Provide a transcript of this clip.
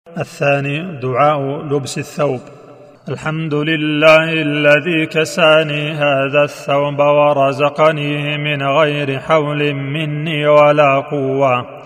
الثاني دعاء لبس الثوب: الحمد لله الذي كساني هذا الثوب ورزقنيه من غير حول مني ولا قوة.